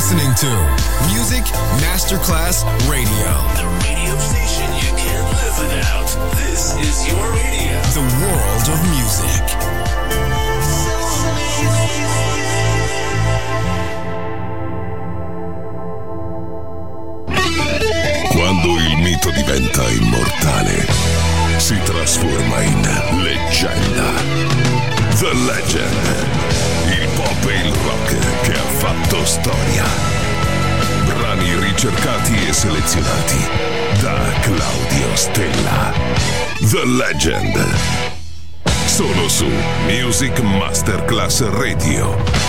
listening to Music Masterclass Radio. The radio station you can't live without. This is your radio. The world of music. Quando il mito diventa immortale, si trasforma in leggenda. The Legend. Il pop e il rock che ha fatto storia. Brani ricercati e selezionati da Claudio Stella. The Legend. Solo su Music Masterclass Radio.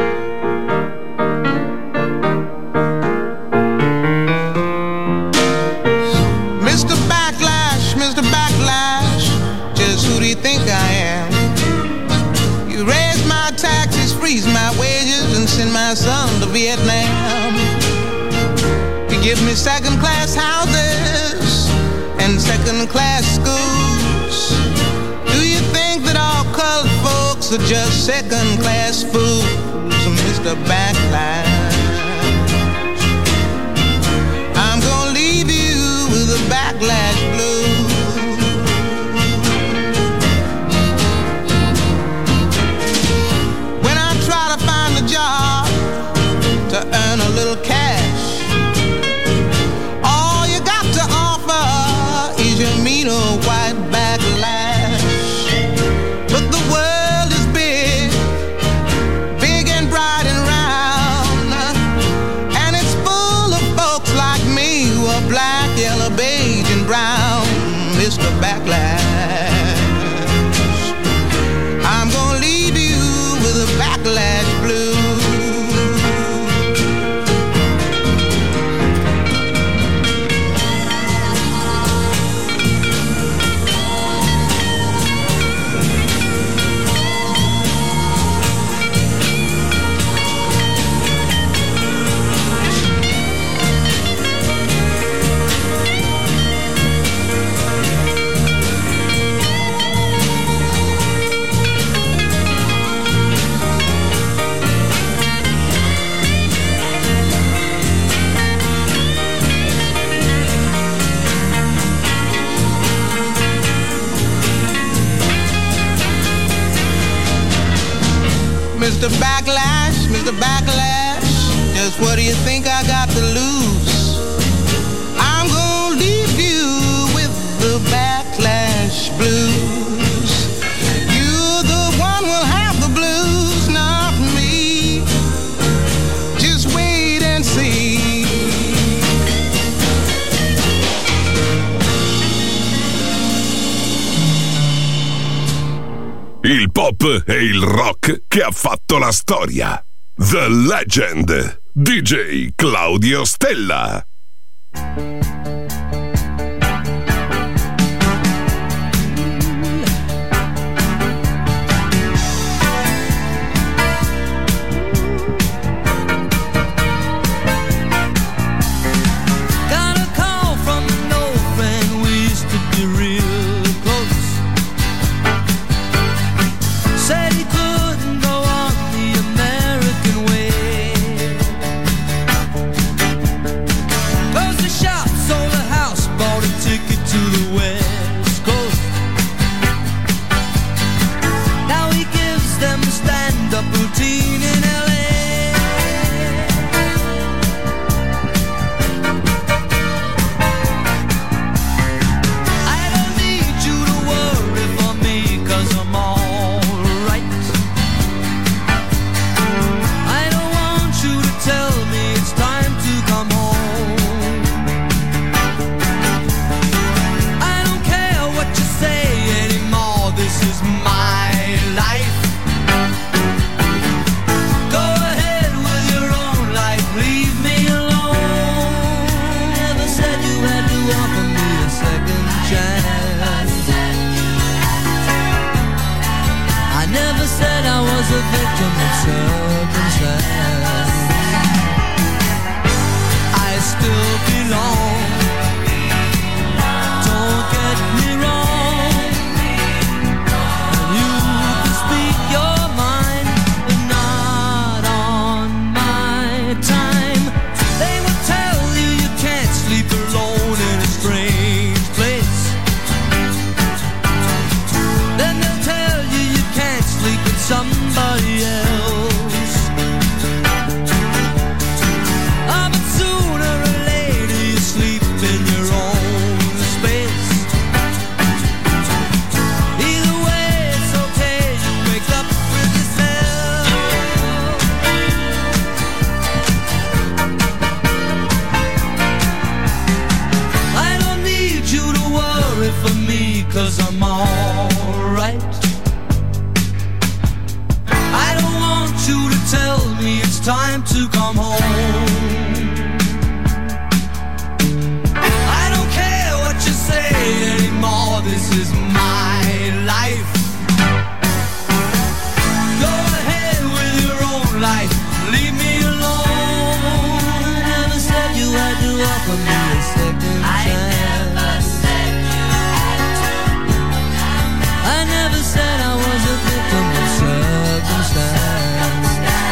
Think I am. You raise my taxes, freeze my wages, and send my son to Vietnam. You give me second-class houses and second-class schools. Do you think that all colored folks are just second-class fools, Mr. Backlash? I'm gonna leave you with a backlash blues. Job to earn a little cash. All you got to offer is your mean old white backlash. But the world is big, big and bright and round, and it's full of folks like me who are black, yellow, beige, and brown, Mr. Backlash. I'm gonna leave you with a backlash blue. Mr. Backlash, Mr. Backlash, just what do you think I got to lose? I'm gonna leave you with the backlash blues. You're the one who'll have the blues, not me. Just wait and see. Il pop e il rock che ha fatto la storia. The Legend. DJ Claudio Stella. Time somebody else. Oh, but sooner or later you sleep in your own space. Either way it's okay, you wake up with yourself. I don't need you to worry for me, 'cause I'm alright. I don't want you to tell me it's time to come home. I don't care what you say anymore, this is my life. Go ahead with your own life, leave me alone. I never said you had to offer me a second chance. I never said I was a victim of circumstance.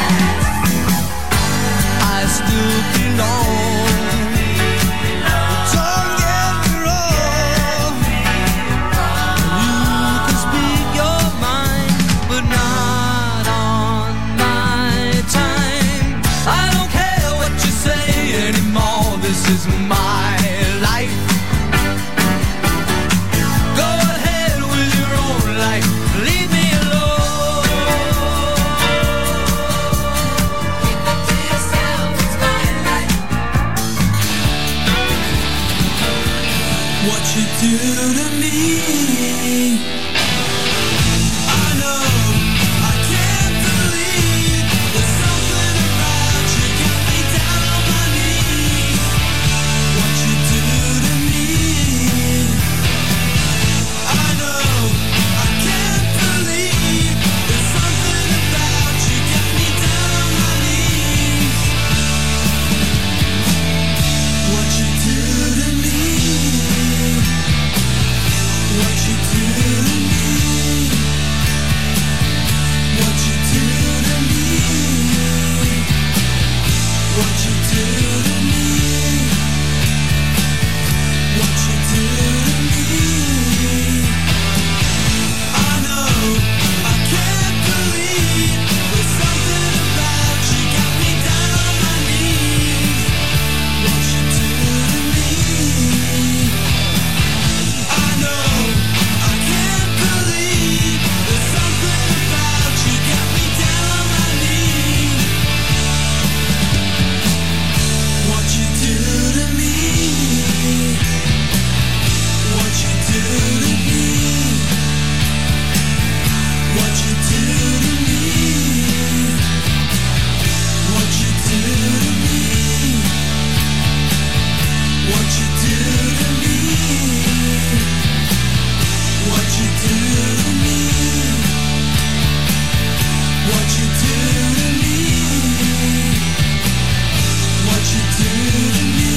I still belong. Don't get me wrong. You can speak your mind, but not on my time. I don't care what you say anymore, this is my life. Go ahead with your own life, leave me alone. Keep it to yourself, it's my life. What you do to me, I know, I can't believe. There's something about you, got me down on my knees. What you do to me, I know, I can't believe. There's something about you, got me down on my knees. What you do to me, what you do to me, what you do to me, what you do to me, what you do to me. I know, I can't believe. There's something about you, got me down on my knees. What you do to me, I know, I can't believe. There's something about you, got me down on my knees. What you do to me, what you do to me, what you do to me, what you do to me, what you do to me, what you do to me, what you do to me, what you do to me.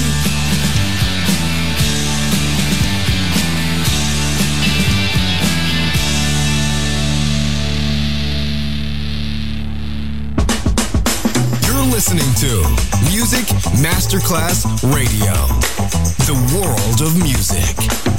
You're listening to Music Masterclass Radio, the world of music.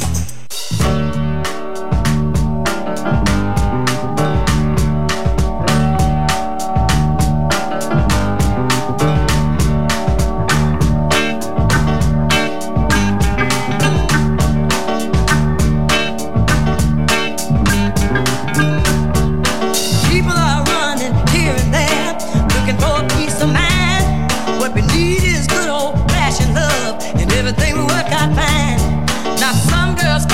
People are running here and there, looking for a peace of mind. What we need is good old fashioned love, and everything will work out fine. Now some girls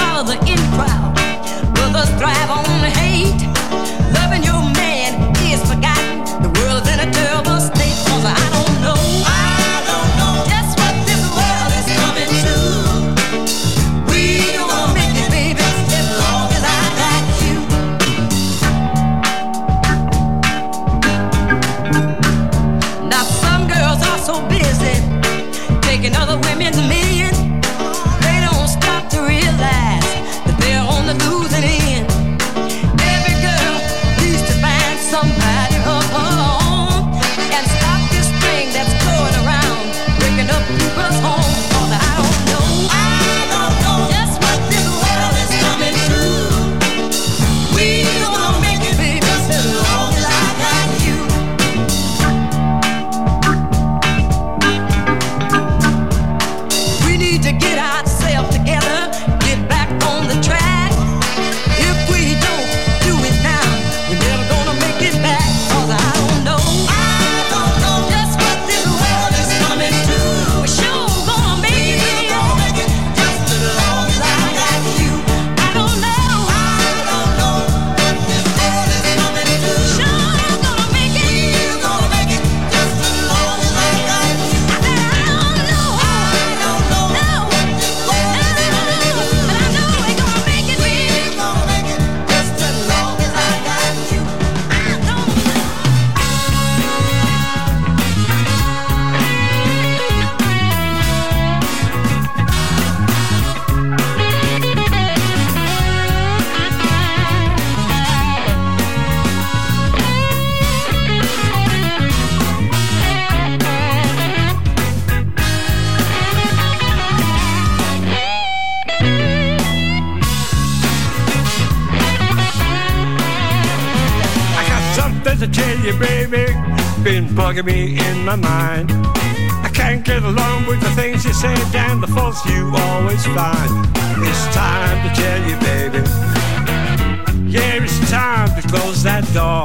Bugging me in my mind. I can't get along with the things you say and the faults you always find. It's time to tell you, baby. Yeah, it's time to close that door.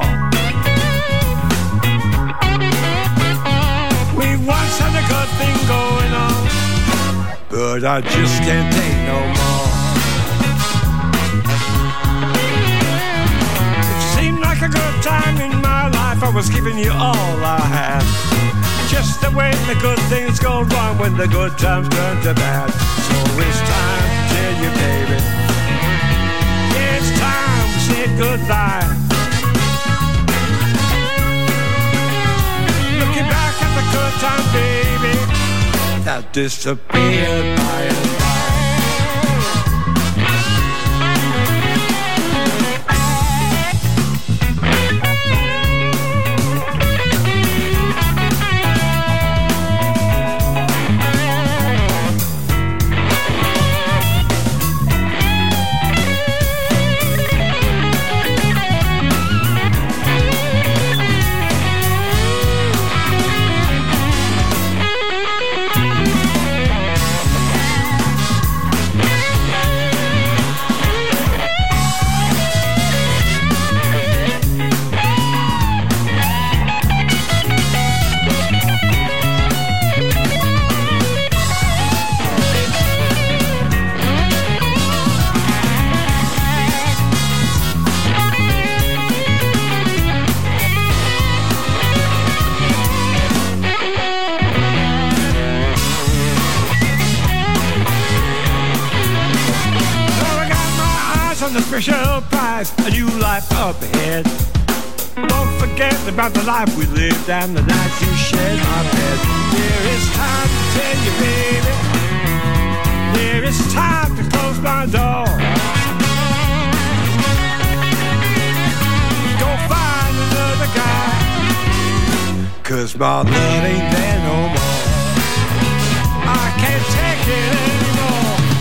We once had a good thing going on, but I just can't take no more. It seemed like a good time in my life. I was giving you all I had. Just the way the good things go wrong when the good times turn to bad. So it's time to tell you, baby. Yeah, it's time we said goodbye. Looking back at the good time, baby, that disappeared by and by. Special prize, a new life up ahead. Don't forget about the life we lived and the nights you shared my bed. There is time to tell you, baby. There is time to close my door. Go find another guy, 'cause my love ain't there no more. I can't take it anymore.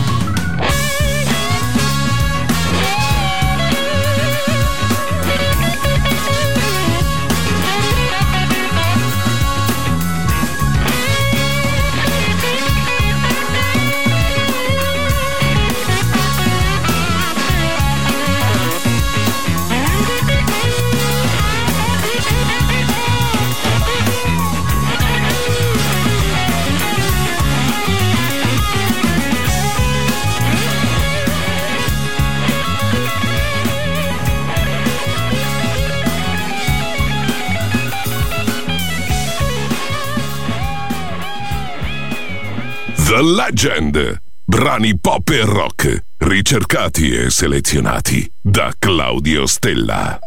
The Legend. Brani pop e rock, ricercati e selezionati da Claudio Stella.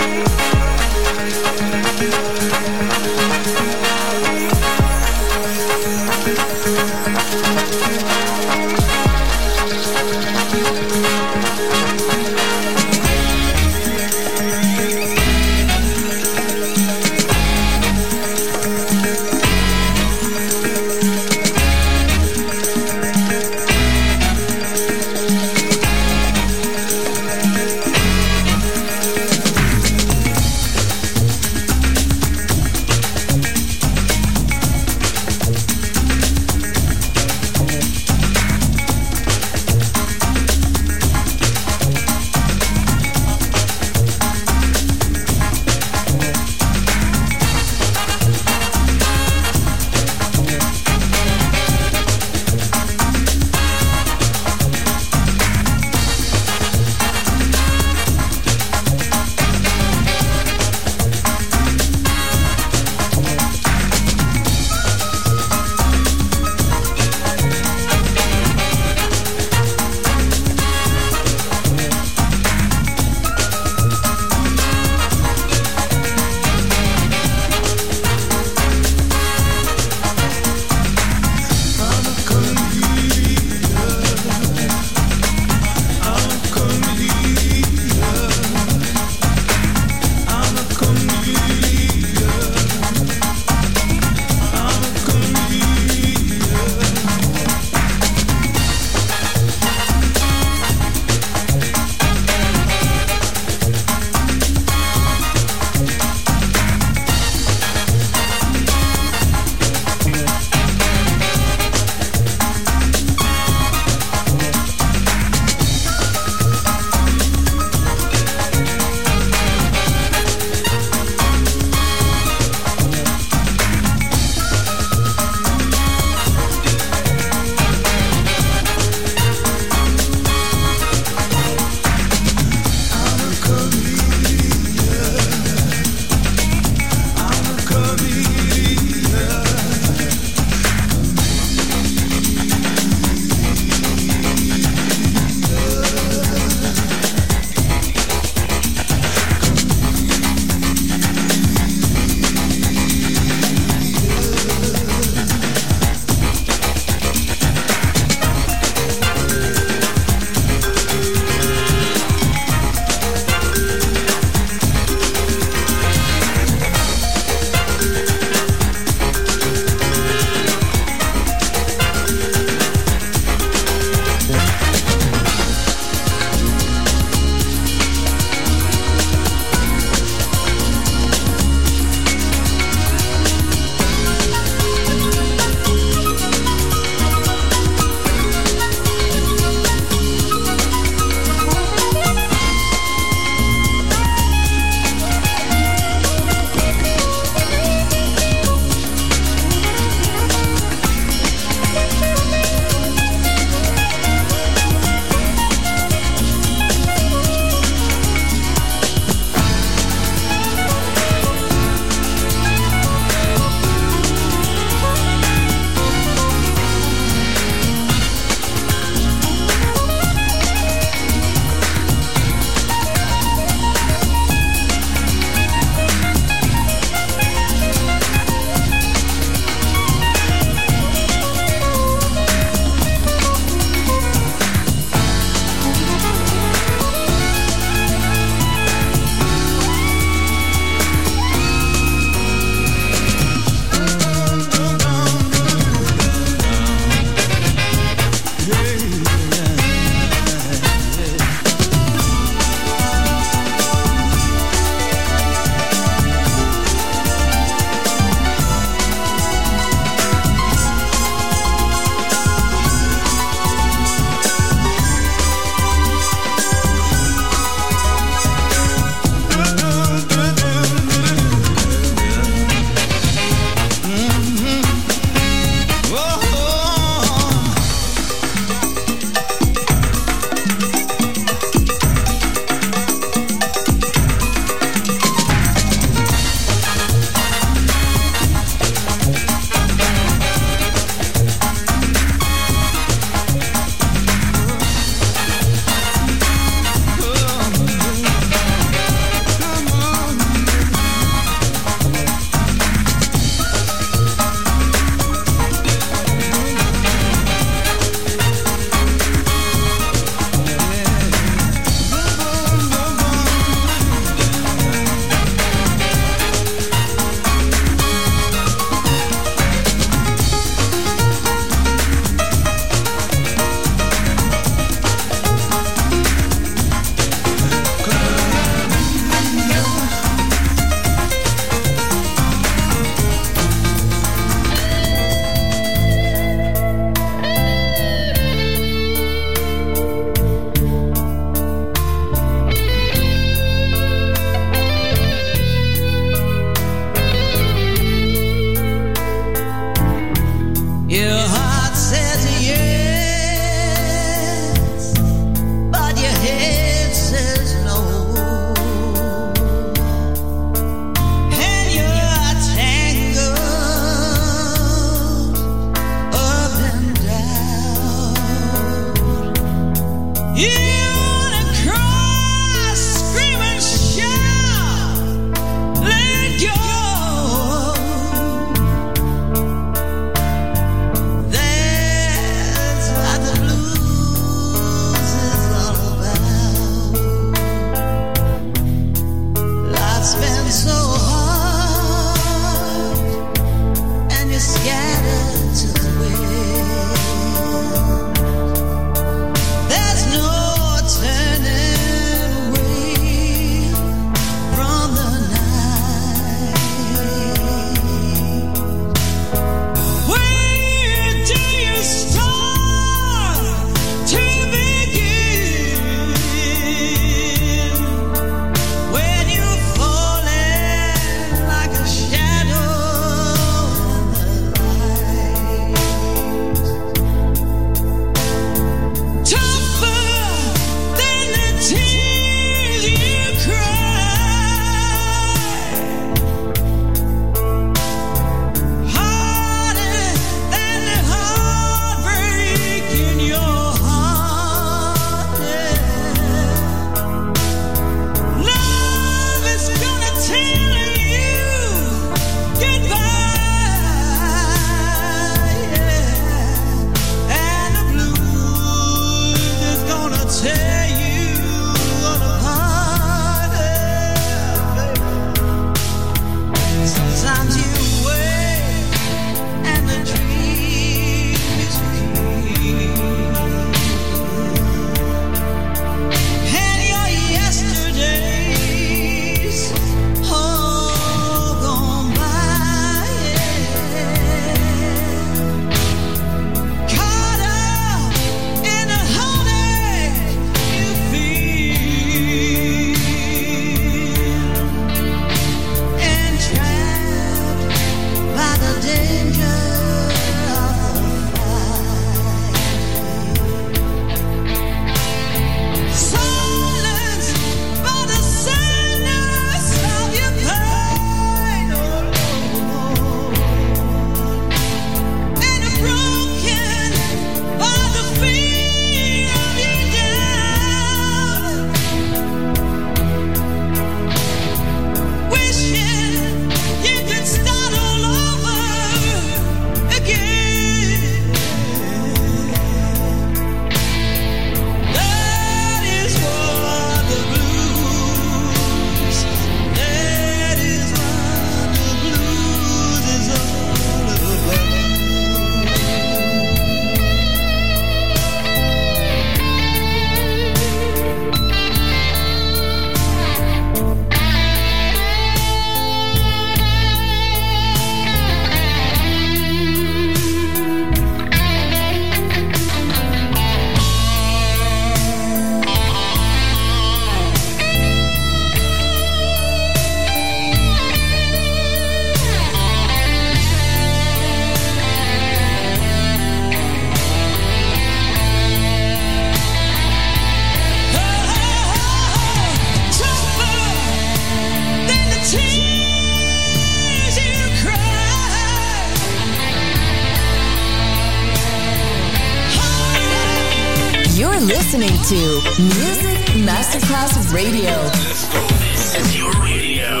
listening to Music Masterclass Radio. This is your radio.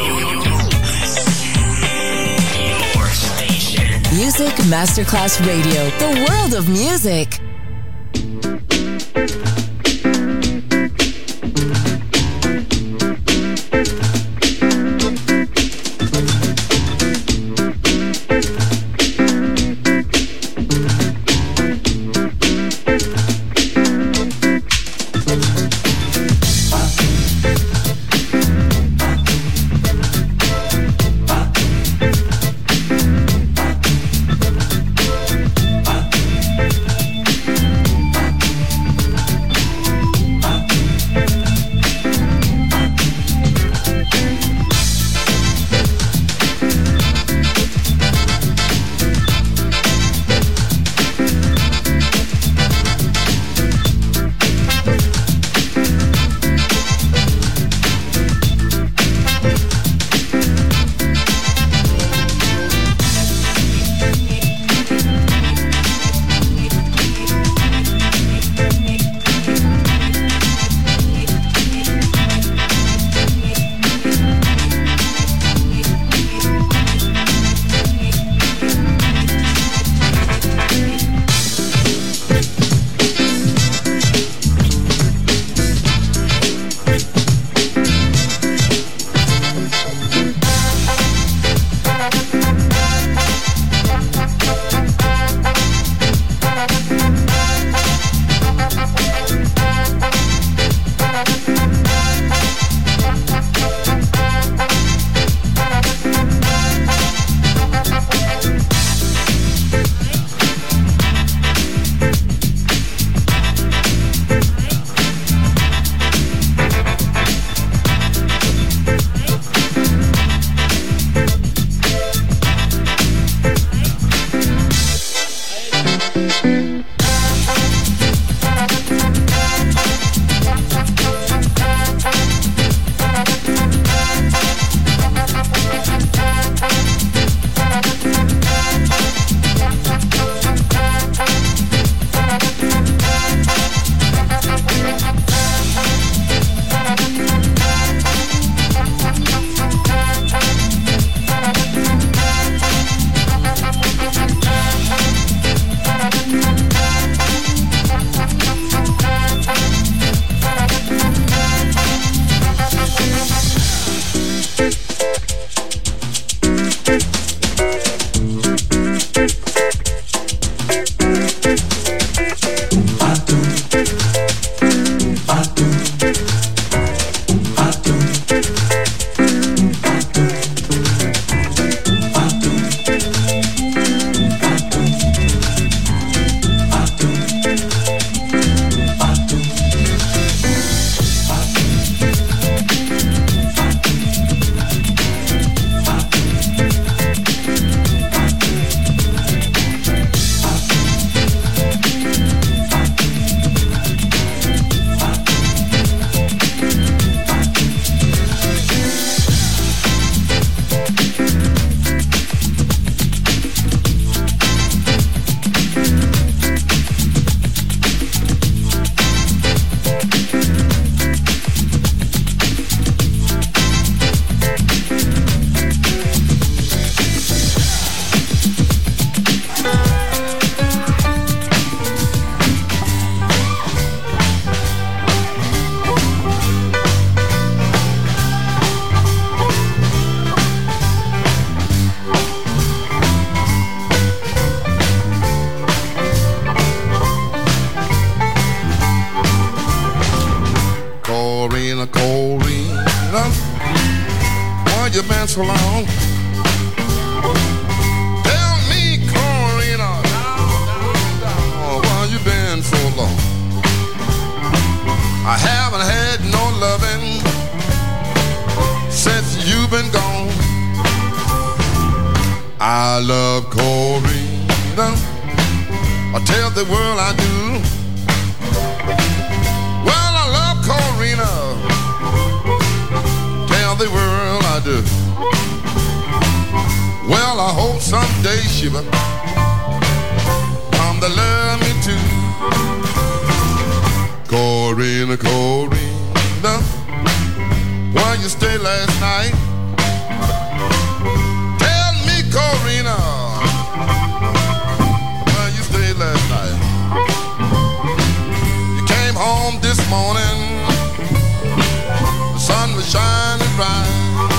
Your station. Music Masterclass Radio. The world of music. So long. Tell me, Corina, why you been so long? I haven't had no loving since you've been gone. I love Corina, I tell the world I do. Well, I love Corina, tell the world I do. Well, I hope someday she will come to love me too. Go Corina, Corina, where you stay last night? Tell me, Corina, where you stayed last night? You came home this morning, the sun was shining bright.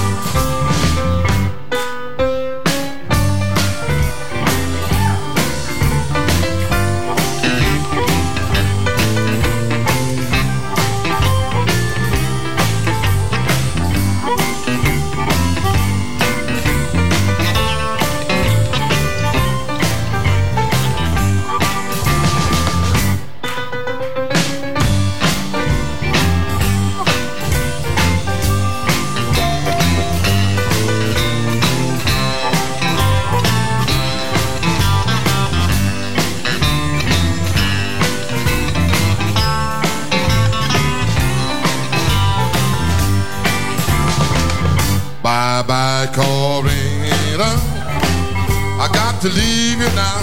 Bye-bye, Corina, I got to leave you now.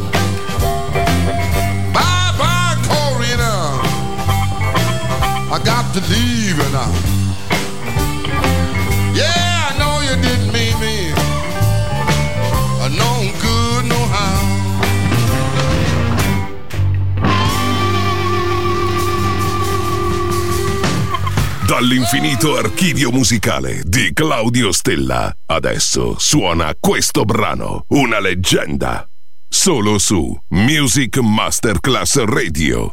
Bye-bye, Corina, I got to leave you now. Yeah, I know you didn't mean me no good, no how. Dall'infinito archivio musicale di Claudio Stella, adesso suona questo brano, una leggenda, solo su Music Masterclass Radio.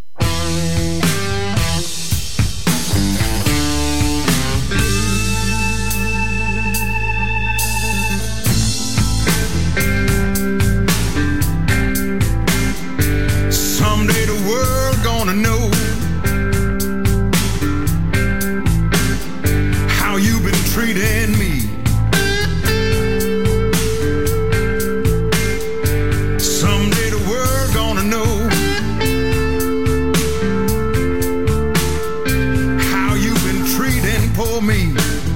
Someday the world gonna know you've been treating me. Someday the world gonna know how you've been treating poor me.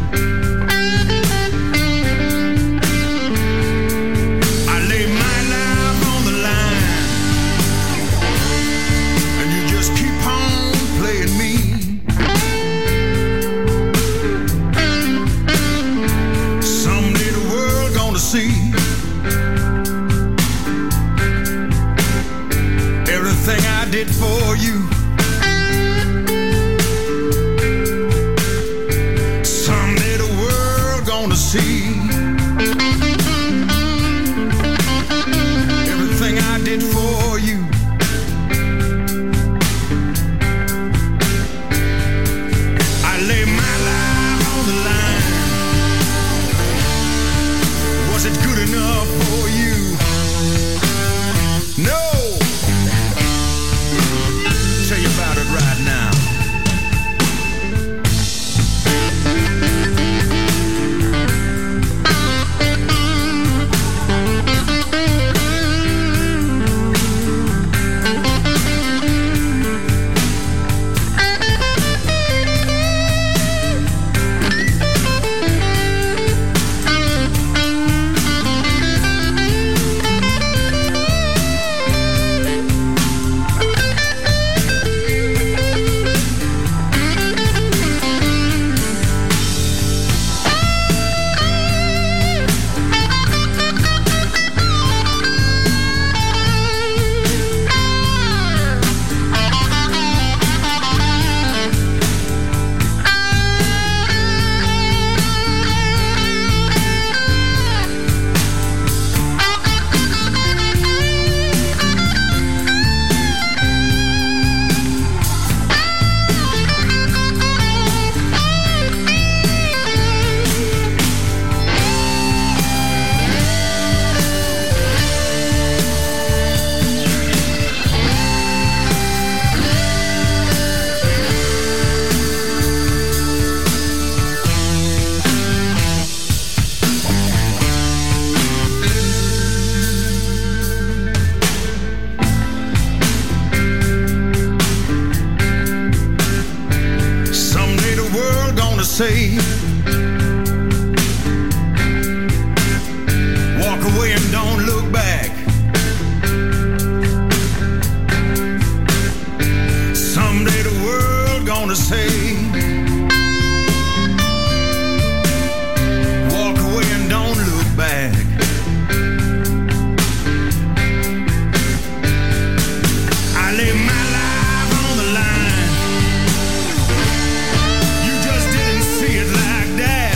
I lay my life on the line and you just keep on playing me. See everything I did for you. Someday the world gonna see everything I did for you. I lay my life on the line. Was it good enough for you? No! Tell you about it right now. Say, walk away and don't look back. Someday the world say. Walk away and don't look back. I lay my life on the line. You just didn't see it like that.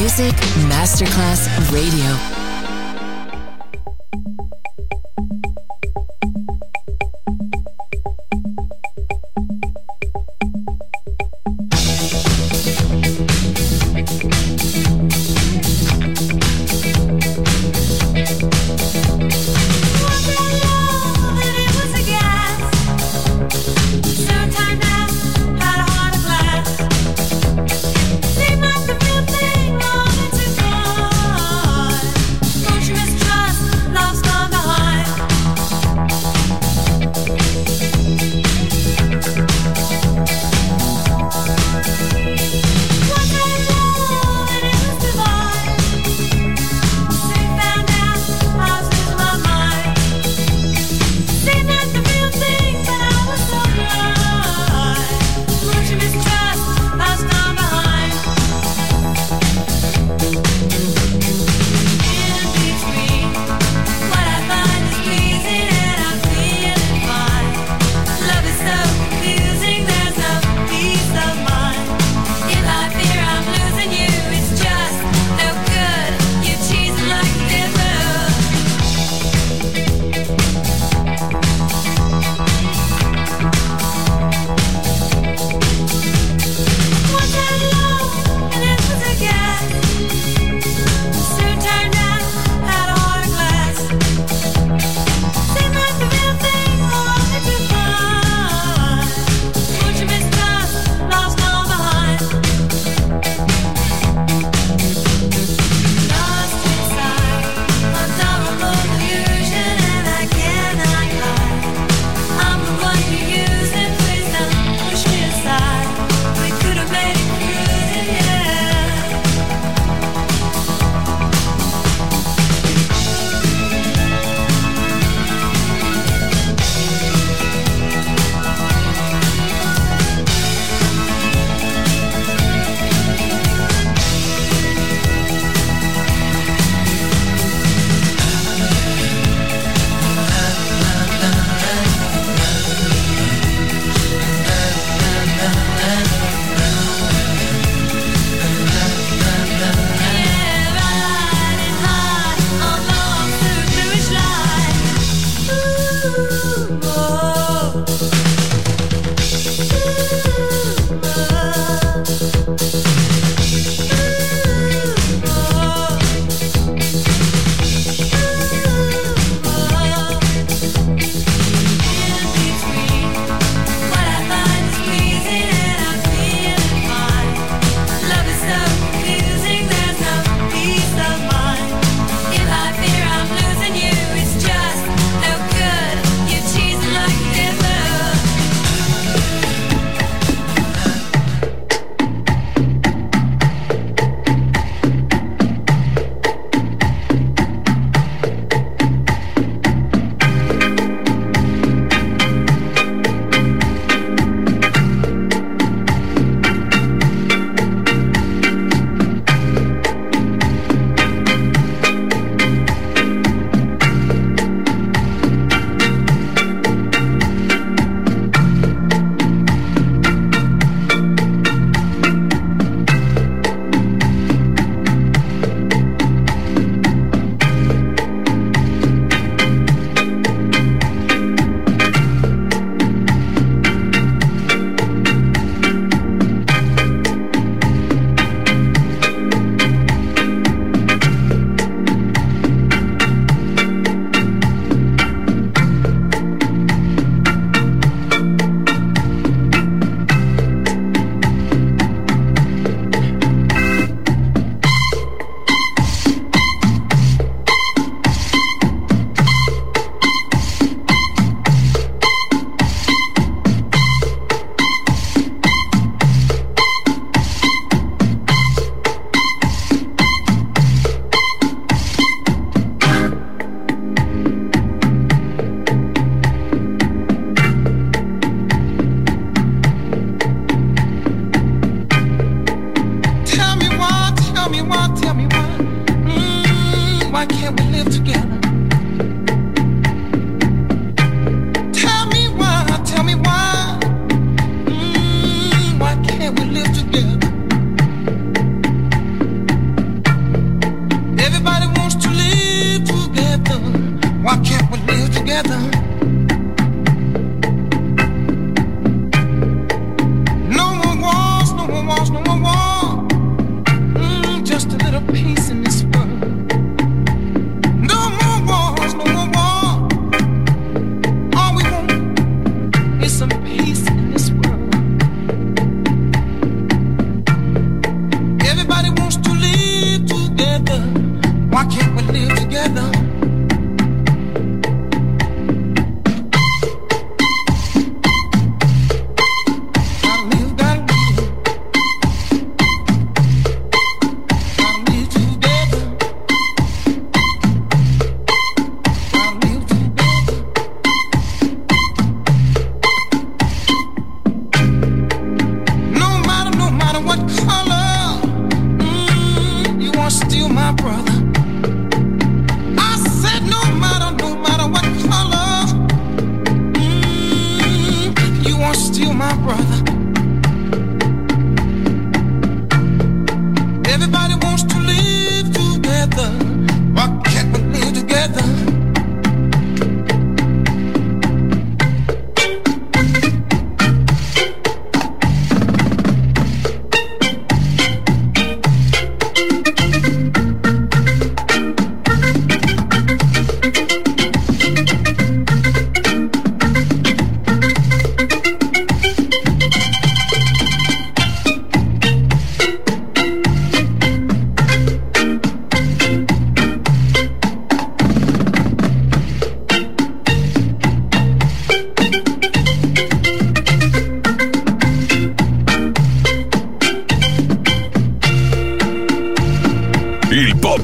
Music Masterclass Radio. Seemed like the real thing all into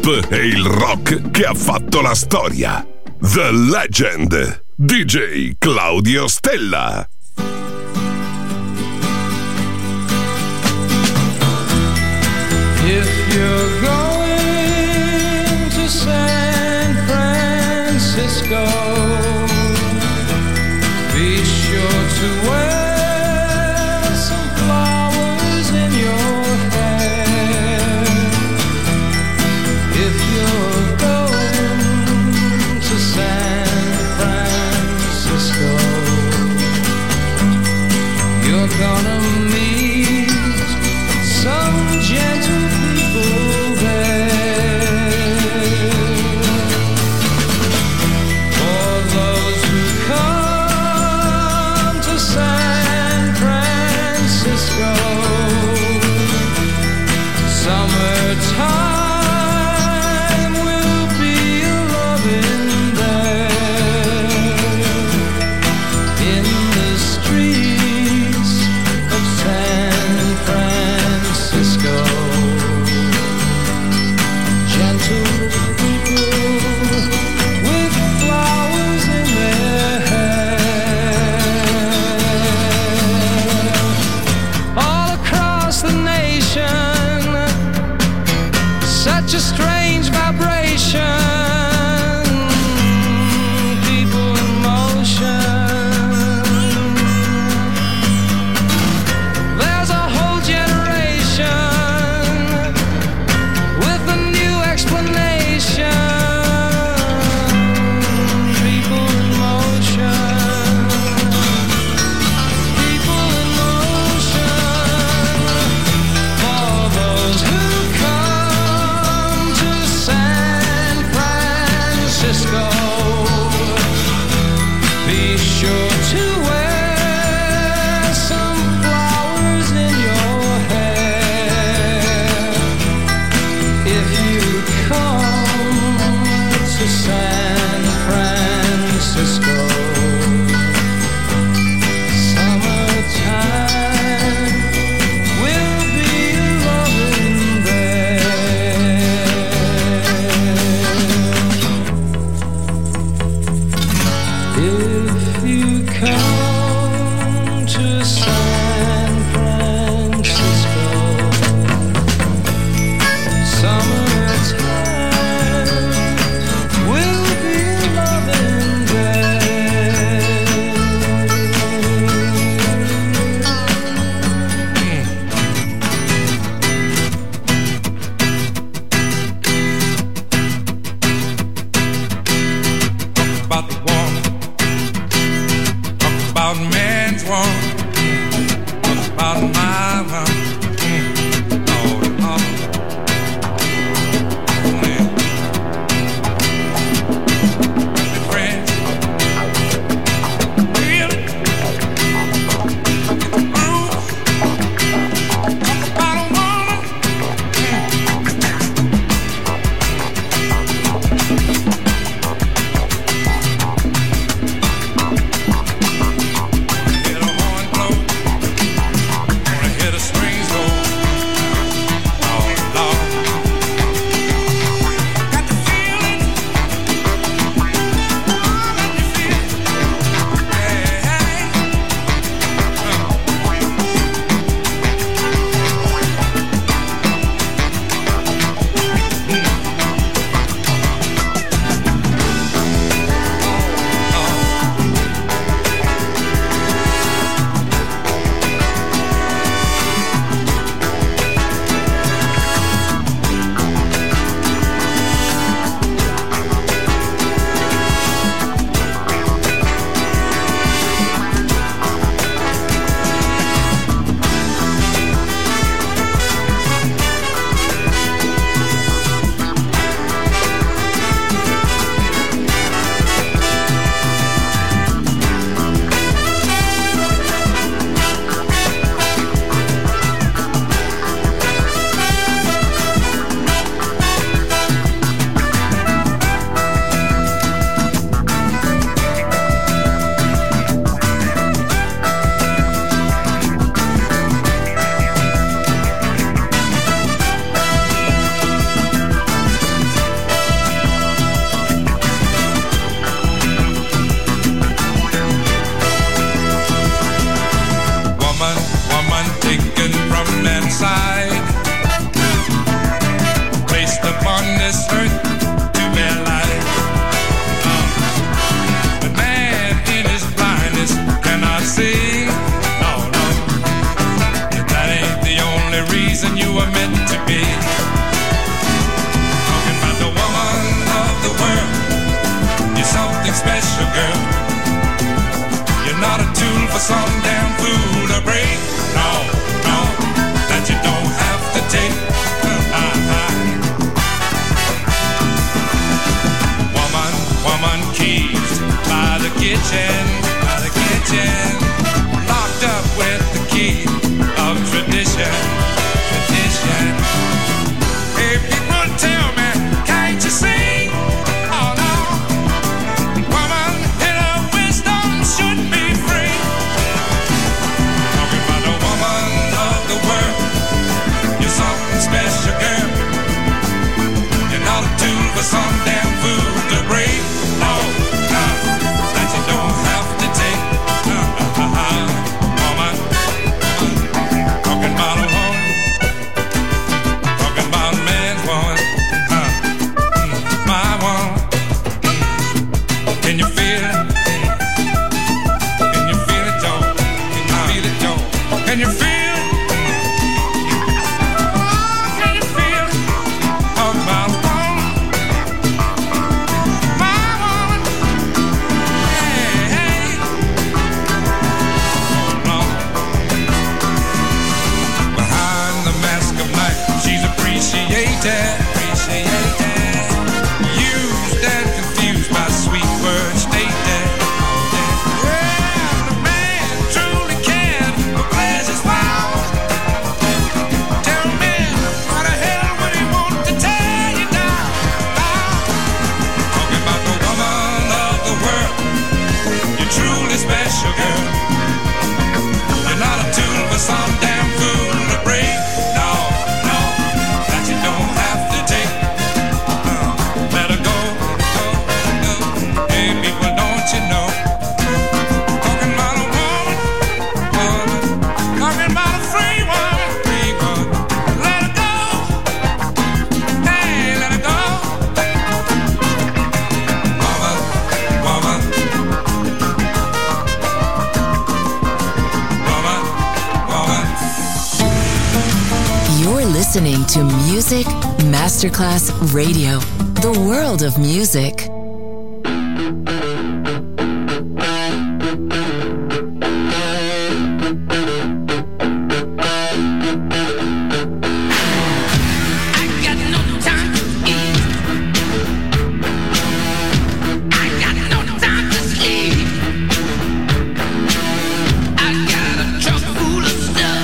pop e il rock che ha fatto la storia. The Legend, DJ Claudio Stella. If you're going to San Francisco, be sure to wear some flowers in your hair. If you're going to San Francisco, you're gonna meet some gentle people there. For those who come to San Francisco, summertime will be a loving there. In the streets of San Francisco, gentle people with flowers in their hair. All across the nation, such a strange vibration, people in motion. There's a whole generation with a new explanation. People in motion. People in motion. For those who come to San Francisco, be sure to wear some flowers in your hair. If you come to San Francisco, summertime will be loving there. If you come to San Francisco, summertime will be loving there. something special, girl. You're not a tool for some damn fool to break. No, no, that you don't have to take. Woman, woman keys by the kitchen, locked up with the key of tradition, tradition. Hey, people tell me, can't you see? Oh no, woman in her wisdom should be free. Talking about the woman of the world, you're something special, girl. You're not a tool for some damn fool to break. No, no, that you don't have to take. Woman, talking about a woman, talking about a man's woman, my woman. Can you feel it? Can you feel it, Joe? Can you feel it, Joe? Can you feel it? Can you feel it? Talking about a woman, my woman. Hey, hey. Oh, no. Behind the mask of night, she's appreciated, used and confused by sweet words stated. Well, the man truly cared for pleasure's wild. Tell me, why the hell would he want to tear you down? Talking about the woman of the world, you're truly special, girl. You're not a tool for some damn fool to break. No, no, that you don't have to take. Let her go, go, go. Hey, people, don't you know? Talking about a woman, woman. Talking about a free woman, free woman. Let her go. Hey, let her go. Woman, woman. Woman, woman. You're listening to Music Masterclass Radio, the world of music. I got no time to eat. I got no time to sleep. I got a truck full of stuff.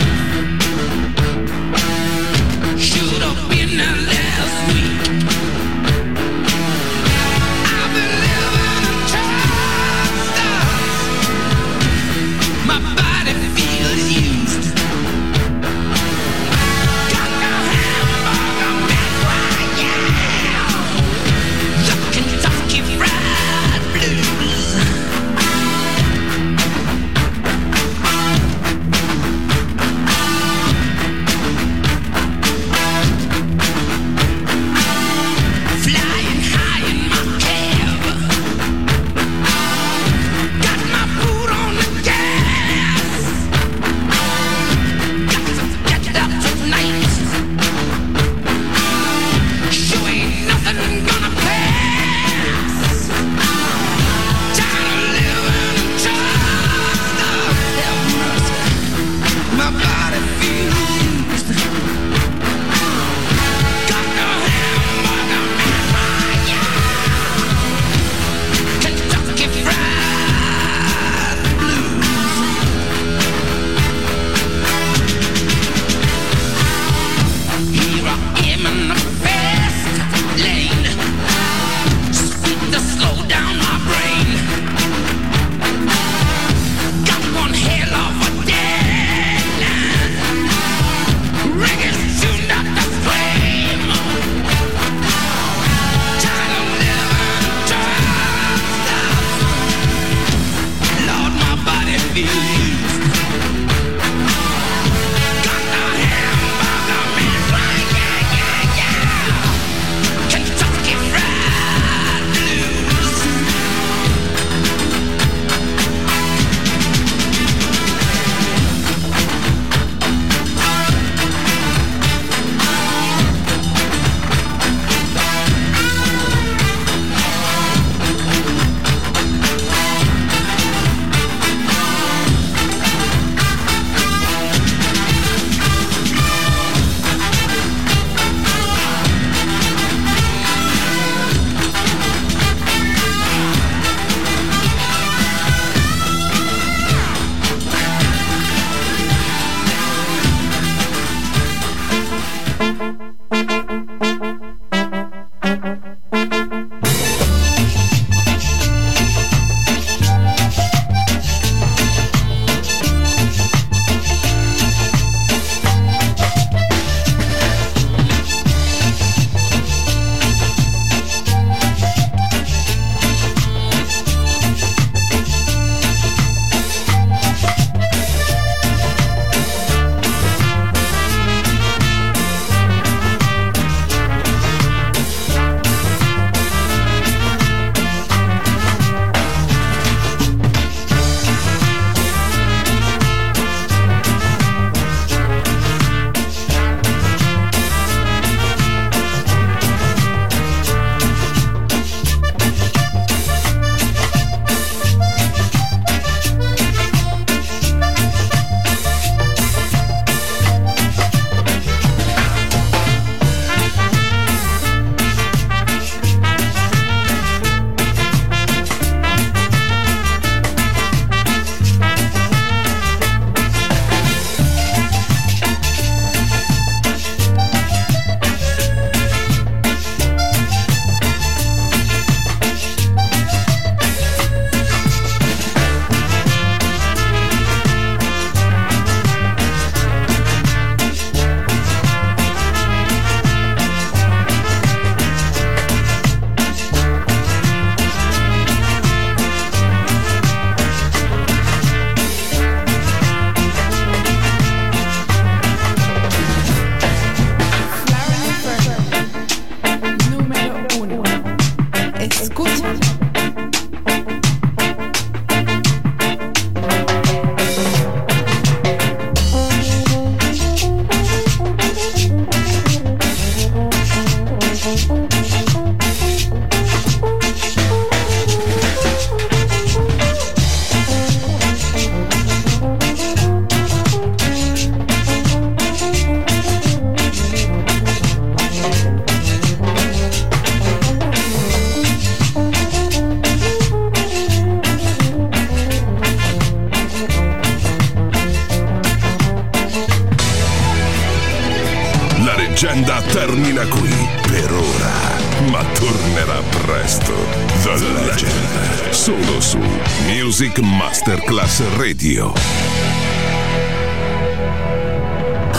Should have been out last week. leggenda termina qui per ora, ma tornerà presto. The Legend, solo su Music Masterclass Radio.